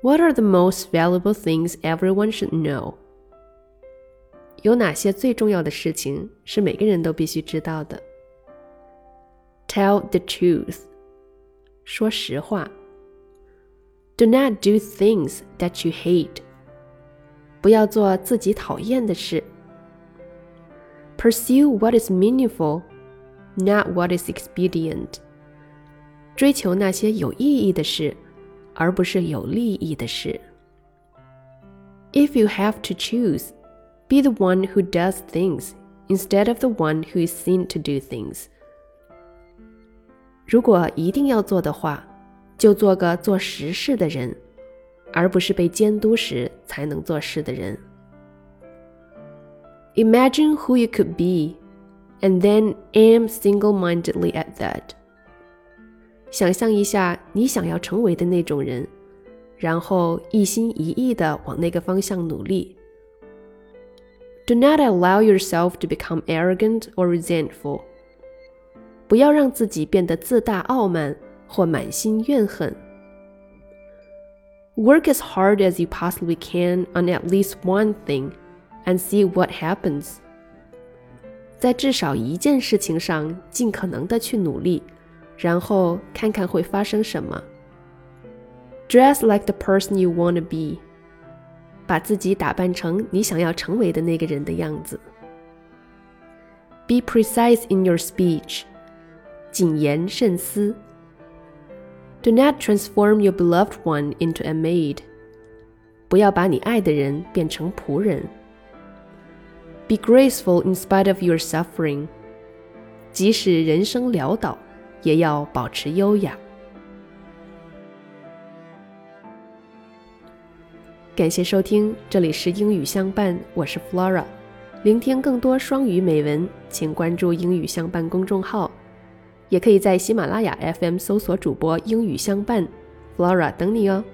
What are the most valuable things everyone should know? 有哪些最重要的事情是每个人都必须知道的？ Tell the truth. 说实话。Do not do things that you hate. 不要做自己讨厌的事。Pursue what is meaningful, not what is expedient. 追求那些有意义的事，而不是有利益的事。If you have to choose, be the one who does things instead of the one who is seen to do things. 如果一定要做的话，就做个做实事的人，而不是被监督时才能做事的人。Imagine who you could be, and then aim single-mindedly at that. 想象一下你想要成为的那种人，然后一心一意地往那个方向努力。Do not allow yourself to become arrogant or resentful. 不要让自己变得自大傲慢或满心怨恨。Work as hard as you possibly can on at least one thing, and see what happens. 在至少一件事情上尽可能地去努力，然后看看会发生什么。Dress like the person you want to be. 把自己打扮成你想要成为的那个人的样子。Be precise in your speech. 谨言慎思。Do not transform your beloved one into a maid. 不要把你爱的人变成仆人。Be graceful in spite of your suffering. 即使人生潦倒，也要保持优雅。感谢收听，这里是英语相伴，我是 Flora。聆听更多双语美文，请关注英语相伴公众号，也可以在喜马拉雅 FM 搜索主播英语相伴 Flora 等你哦。